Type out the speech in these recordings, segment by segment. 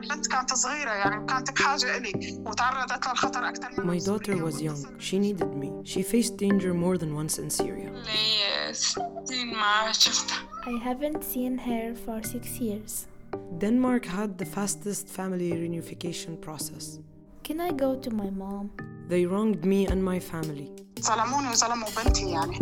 البنت كانت صغيرة يعني كانت بحاجة إلي وتعرضت للخطر أكثر من My daughter was young. She needed me. She faced danger more than once in Syria. I haven't seen her for 6 years. Denmark had the fastest family reunification process. Can I go to my mom? They wronged me and my family. ظلموني وظلموا بنتي يعني.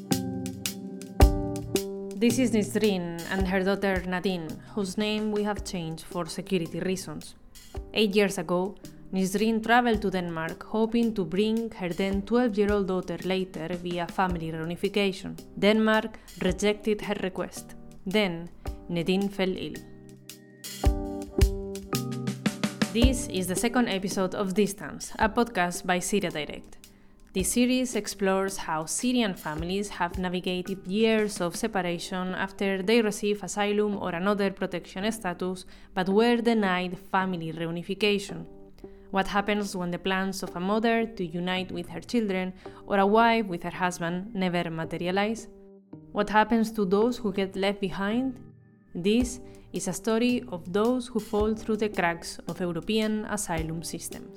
This is Nisrin and her daughter Nadine, whose name we have changed for security reasons. 8 years ago, Nisrin traveled to Denmark hoping to bring her then 12-year-old daughter later via family reunification. Denmark rejected her request. Then, Nadine fell ill. This is the second episode of Distance, a podcast by Syria Direct. This series explores how Syrian families have navigated years of separation after they receive asylum or another protection status but were denied family reunification. What happens when the plans of a mother to unite with her children or a wife with her husband never materialize? What happens to those who get left behind? This is a story of those who fall through the cracks of European asylum systems.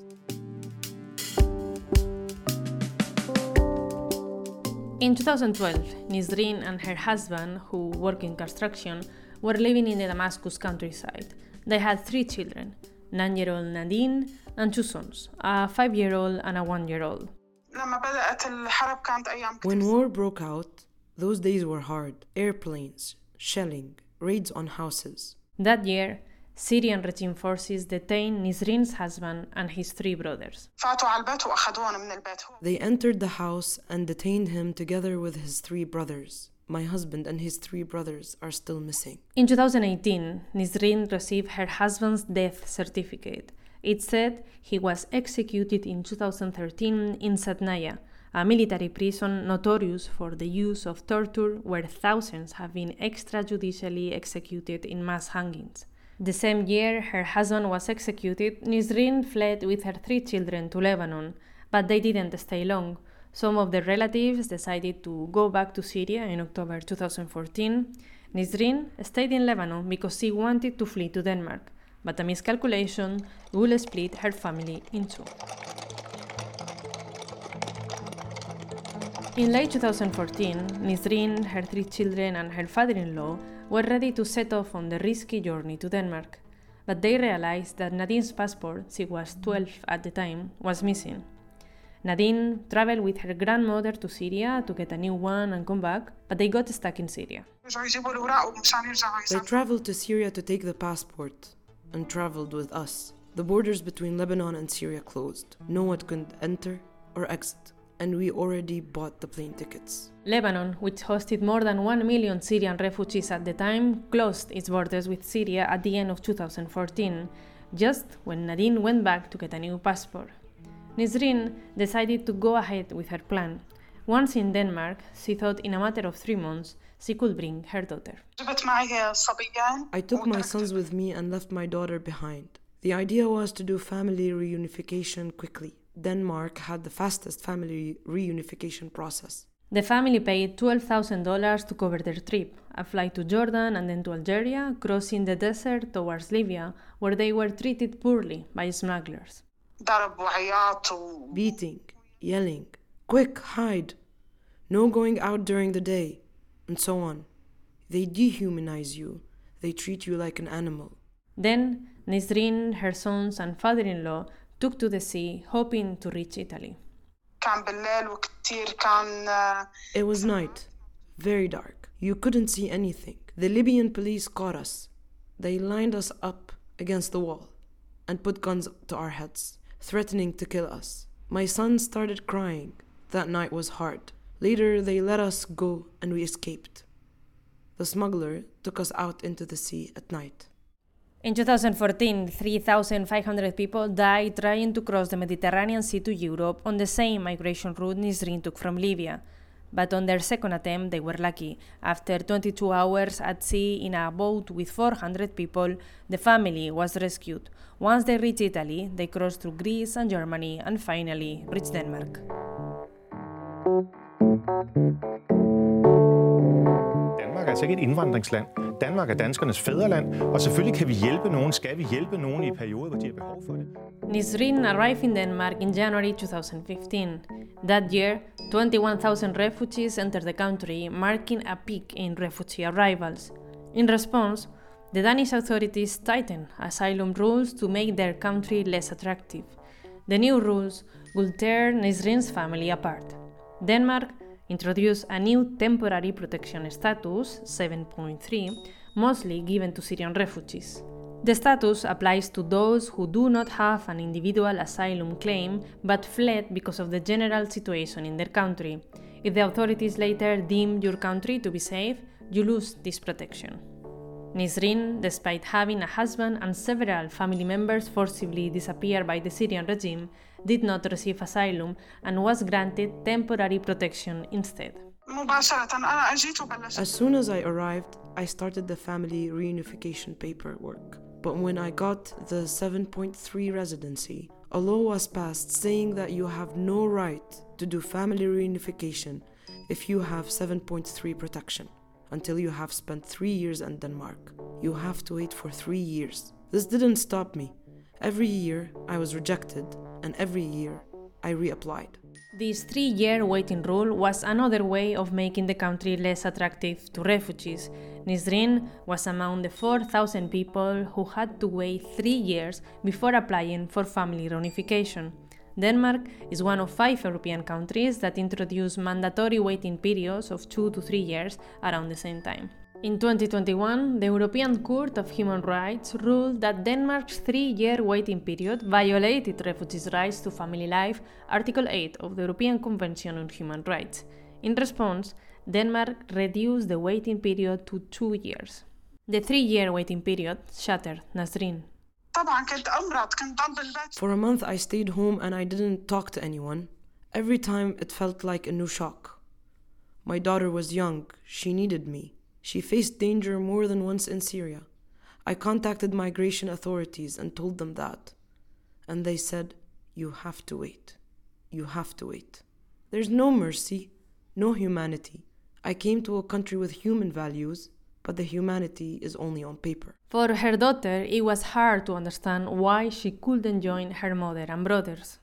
In 2012, Nisrin and her husband, who work in construction, were living in the Damascus countryside. They had 3 children, 9-year-old Nadine and 2 sons, a 5-year-old and a 1-year-old. لما بدأت الحرب كانت أيام كتير. When war broke out, those days were hard. Airplanes, shelling, raids on houses. That year, Syrian regime forces detained Nisrin's husband and his 3 brothers. فاتوا على البيت وأخذوهم من البيت. They entered the house and detained him together with his 3 brothers. My husband and his 3 brothers are still missing. In 2018, Nisrin received her husband's death certificate. It said he was executed in 2013 in Satnaya, a military prison notorious for the use of torture where thousands have been extrajudicially executed in mass hangings. The same year her husband was executed, Nisrin fled with her 3 children to Lebanon, but they didn't stay long. Some of their relatives decided to go back to Syria in October 2014. Nisrin stayed in Lebanon because she wanted to flee to Denmark, but a miscalculation will split her family in 2. In late 2014, Nisrin, her 3 children and her father-in-law were ready to set off on the risky journey to Denmark, but they realized that Nadine's passport, she was 12 at the time, was missing. Nadine traveled with her grandmother to Syria to get a new one and come back, but they got stuck in Syria. They traveled to Syria to take the passport and traveled with us. The borders between Lebanon and Syria closed. No one could enter or exit, and we already bought the plane tickets. Lebanon, which hosted more than 1 million Syrian refugees at the time, closed its borders with Syria at the end of 2014, just when Nadine went back to get a new passport. Nisrin decided to go ahead with her plan. Once in Denmark, she thought in a matter of 3 months she could bring her daughter. I took my sons with me and left my daughter behind. The idea was to do family reunification quickly. Denmark had the fastest family reunification process. The family paid $12,000 to cover their trip, a flight to Jordan and then to Algeria, crossing the desert towards Libya, where they were treated poorly by smugglers. Beating, yelling, quick, hide, no going out during the day, and so on. They dehumanize you. They treat you like an animal. Then, Nisrin, her sons and father-in-law took to the sea, hoping to reach Italy. It was night, very dark. You couldn't see anything. The Libyan police caught us. They lined us up against the wall and put guns to our heads, threatening to kill us. My son started crying. That night was hard. Later, they let us go and we escaped. The smuggler took us out into the sea at night. In 2014, 3,500 people died trying to cross the Mediterranean Sea to Europe on the same migration route Nisrin took from Libya. But on their second attempt, they were lucky. After 22 hours at sea in a boat with 400 people, the family was rescued. Once they reached Italy, they crossed through Greece and Germany and finally reached Denmark. Danmark er altså ikke et indvandringsland. Danmark er danskernes fædreland, og selvfølgelig kan vi hjælpe nogen, skal vi hjælpe nogen i perioder, hvor de har behov for det. Nisrin arrived in Denmark in January 2015. That year, 21,000 refugees entered the country, marking a peak in refugee arrivals. In response, the Danish authorities tightened asylum rules to make their country less attractive. The new rules would tear Nisrin's family apart. Denmark introduced a new temporary protection status, 7.3, mostly given to Syrian refugees. The status applies to those who do not have an individual asylum claim but fled because of the general situation in their country. If the authorities later deem your country to be safe, you lose this protection. Nisrin, despite having a husband and several family members forcibly disappear by the Syrian regime, did not receive asylum and was granted temporary protection instead. As soon as I arrived, I started the family reunification paperwork. But when I got the 7.3 residency, a law was passed saying that you have no right to do family reunification if you have 7.3 protection until you have spent 3 years in Denmark. You have to wait for 3 years. This didn't stop me. Every year I was rejected, and every year I reapplied. This 3-year waiting rule was another way of making the country less attractive to refugees. Nisrin was among the 4,000 people who had to wait 3 years before applying for family reunification. Denmark is one of 5 European countries that introduced mandatory waiting periods of 2 to 3 years around the same time. In 2021, the European Court of Human Rights ruled that Denmark's 3-year waiting period violated refugees' rights to family life, Article 8 of the European Convention on Human Rights. In response, Denmark reduced the waiting period to 2 years. The 3-year waiting period shattered Nisrin. For a month I stayed home and I didn't talk to anyone. Every time it felt like a new shock. My daughter was young. She needed me. She faced danger more than once in Syria. I contacted migration authorities and told them that. And they said, "You have to wait. You have to wait." There's no mercy, no humanity. I came to a country with human values, but the humanity is only on paper. For her daughter, it was hard to understand why she couldn't join her mother and brothers.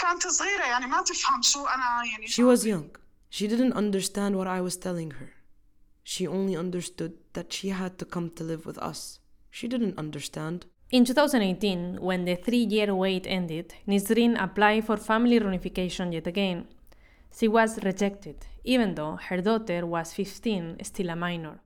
She was young. She didn't understand what I was telling her. She only understood that she had to come to live with us. She didn't understand. In 2018, when the 3-year wait ended, Nisrin applied for family reunification yet again. She was rejected, even though her daughter was 15, still a minor.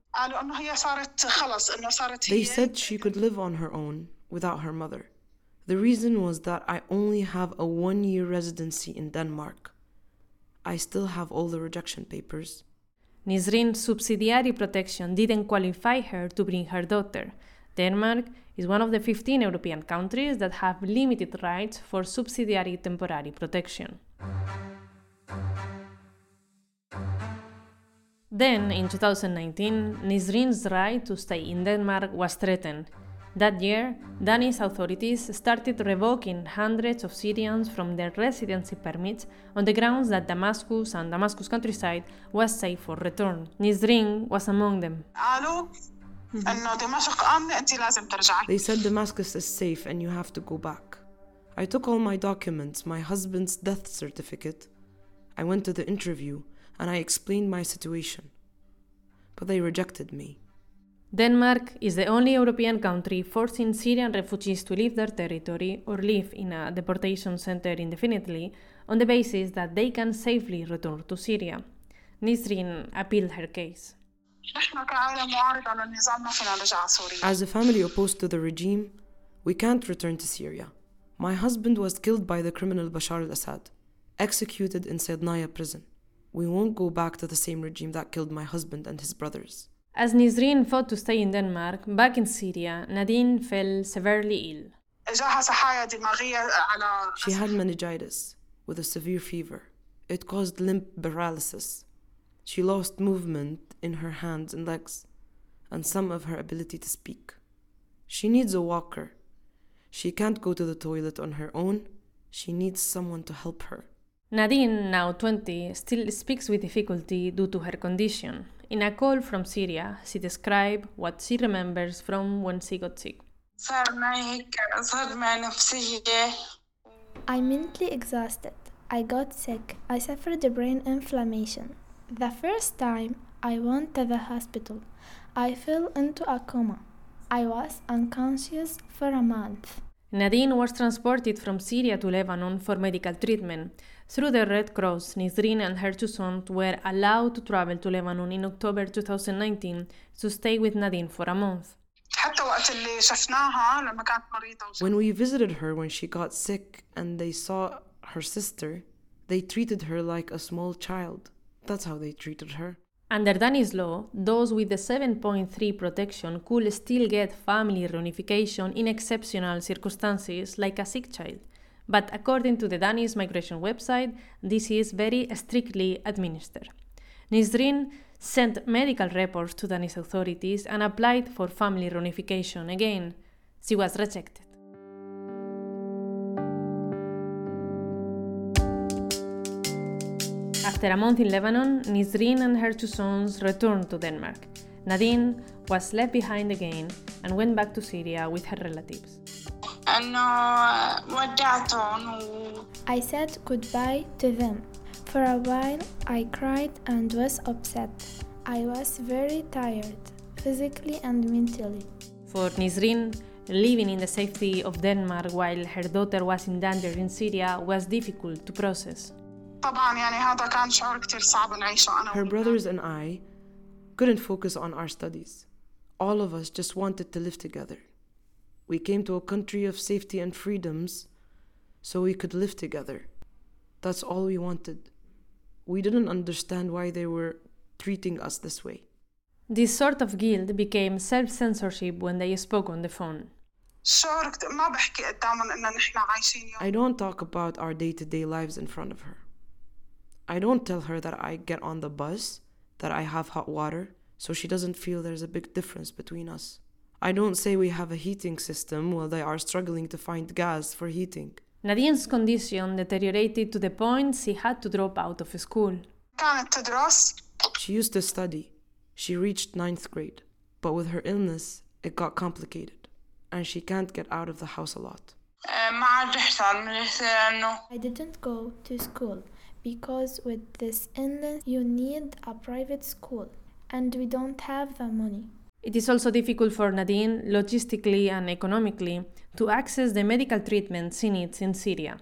They said she could live on her own without her mother. The reason was that I only have a 1-year residency in Denmark. I still have all the rejection papers. Nisrin's subsidiary protection didn't qualify her to bring her daughter. Denmark is one of the 15 European countries that have limited rights for subsidiary temporary protection. Then, in 2019, Nisrin's right to stay in Denmark was threatened. That year, Danish authorities started revoking hundreds of Syrians from their residency permits on the grounds that Damascus and Damascus countryside was safe for return. Nisrin was among them. They said Damascus is safe and you have to go back. I took all my documents, my husband's death certificate. I went to the interview and I explained my situation. But they rejected me. Denmark is the only European country forcing Syrian refugees to leave their territory or live in a deportation center indefinitely on the basis that they can safely return to Syria. Nisrin appealed her case. As a family opposed to the regime, we can't return to Syria. My husband was killed by the criminal Bashar al-Assad, executed in Sednaya prison. We won't go back to the same regime that killed my husband and his brothers. As Nisrin fought to stay in Denmark, back in Syria, Nadine fell severely ill. She had meningitis with a severe fever. It caused limb paralysis. She lost movement in her hands and legs, and some of her ability to speak. She needs a walker. She can't go to the toilet on her own. She needs someone to help her. Nadine, now 20, still speaks with difficulty due to her condition. In a call from Syria, she described what she remembers from when she got sick. I'm mentally exhausted. I got sick. I suffered a brain inflammation. The first time I went to the hospital, I fell into a coma. I was unconscious for a month. Nadine was transported from Syria to Lebanon for medical treatment. Through the Red Cross, Nisreen and her two sons were allowed to travel to Lebanon in October 2019 to stay with Nadine for a month. When we visited her when she got sick and they saw her sister, they treated her like a small child. That's how they treated her. Under Danish law, those with the 7.3 protection could still get family reunification in exceptional circumstances like a sick child. But according to the Danish migration website, this is very strictly administered. Nisreen sent medical reports to Danish authorities and applied for family reunification again. She was rejected. After a month in Lebanon, Nisreen and her two sons returned to Denmark. Nadine was left behind again and went back to Syria with her relatives. I said goodbye to them. For a while, I cried and was upset. I was very tired, physically and mentally. For Nisreen, living in the safety of Denmark while her daughter was in danger in Syria was difficult to process. Her brothers and I couldn't focus on our studies. All of us just wanted to live together. We came to a country of safety and freedoms so we could live together. That's all we wanted. We didn't understand why they were treating us this way. This sort of guilt became self-censorship when they spoke on the phone. I don't talk about our day-to-day lives in front of her. I don't tell her that I get on the bus, that I have hot water, so she doesn't feel there's a big difference between us. I don't say we have a heating system while they are struggling to find gas for heating. Nadine's condition deteriorated to the point she had to drop out of school. She used to study. She reached 9th grade, but with her illness, it got complicated, and she can't get out of the house a lot. I didn't go to school because with this illness you need a private school, and we don't have the money. It is also difficult for Nadine, logistically and economically, to access the medical treatment she needs in Syria.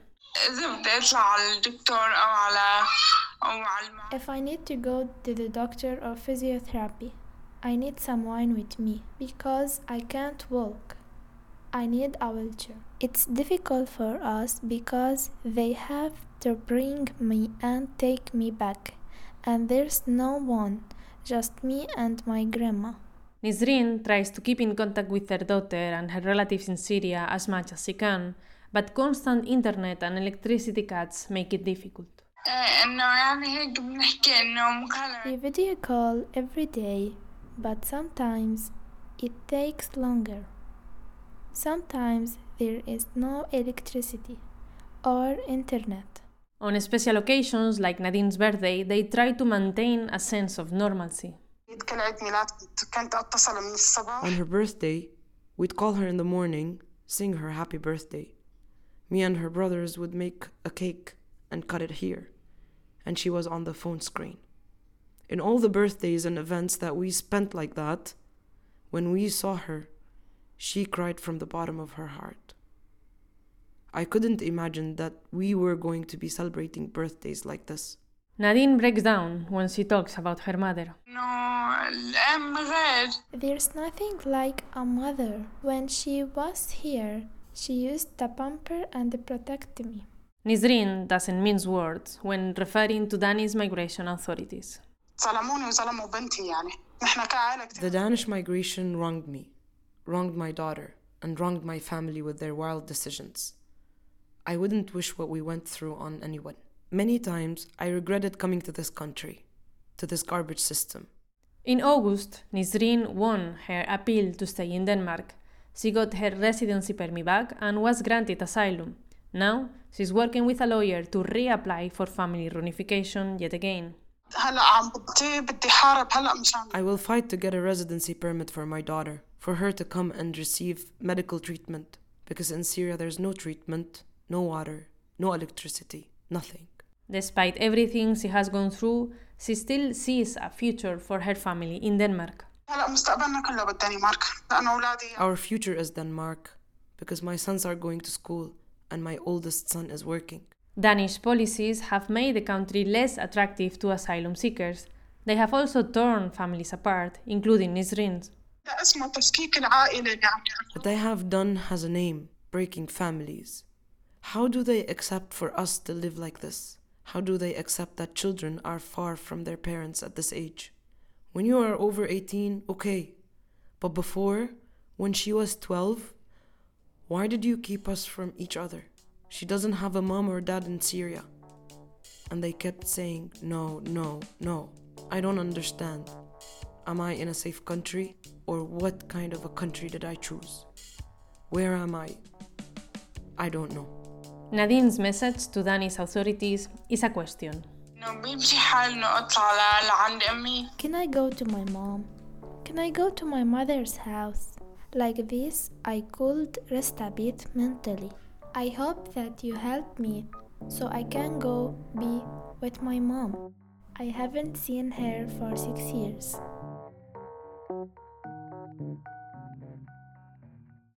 If I need to go to the doctor or physiotherapy, I need someone with me because I can't walk. I need a wheelchair. It's difficult for us because they have to bring me and take me back, and there's no one, just me and my grandma. Nisreen tries to keep in contact with her daughter and her relatives in Syria as much as she can, but constant internet and electricity cuts make it difficult. We video call every day, but sometimes it takes longer. Sometimes there is no electricity or internet. On special occasions like Nadine's birthday, they try to maintain a sense of normalcy. On her birthday, we'd call her in the morning, sing her happy birthday. Me and her brothers would make a cake and cut it here, and she was on the phone screen. In all the birthdays and events that we spent like that, when we saw her, she cried from the bottom of her heart. I couldn't imagine that we were going to be celebrating birthdays like this. Nadine breaks down when she talks about her mother. There's nothing like a mother. When she was here, she used to pamper and protect me. Nisreen doesn't mince words when referring to Danish migration authorities. The Danish migration wronged me, wronged my daughter, and wronged my family with their wild decisions. I wouldn't wish what we went through on anyone. Many times, I regretted coming to this country, to this garbage system. In August, Nisreen won her appeal to stay in Denmark. She got her residency permit back and was granted asylum. Now, she's working with a lawyer to reapply for family reunification yet again. هلا عم بدي حارب هلا مشان. I will fight to get a residency permit for my daughter, for her to come and receive medical treatment, because in Syria there's no treatment, no water, no electricity, nothing. Despite everything she has gone through, she still sees a future for her family in Denmark. هلا مستقبلنا كله بالدنمارك لأنه أولادي. Our future is Denmark, because my sons are going to school and my oldest son is working. Danish policies have made the country less attractive to asylum seekers. They have also torn families apart, including Nisrin's. اسمه تفكيك العائلة اللي عم يعرفوا. What they have done has a name, breaking families. How do they accept for us to live like this? How do they accept that children are far from their parents at this age? When you are over 18, okay. But before, when she was 12, why did you keep us from each other? She doesn't have a mom or dad in Syria. And they kept saying, no, no, no. I don't understand. Am I in a safe country? Or what kind of a country did I choose? Where am I? I don't know. Nadine's message to Danish authorities is a question. Can I go to my mom? Can I go to my mother's house? Like this, I could rest a bit mentally. I hope that you help me so I can go be with my mom. I haven't seen her for 6 years.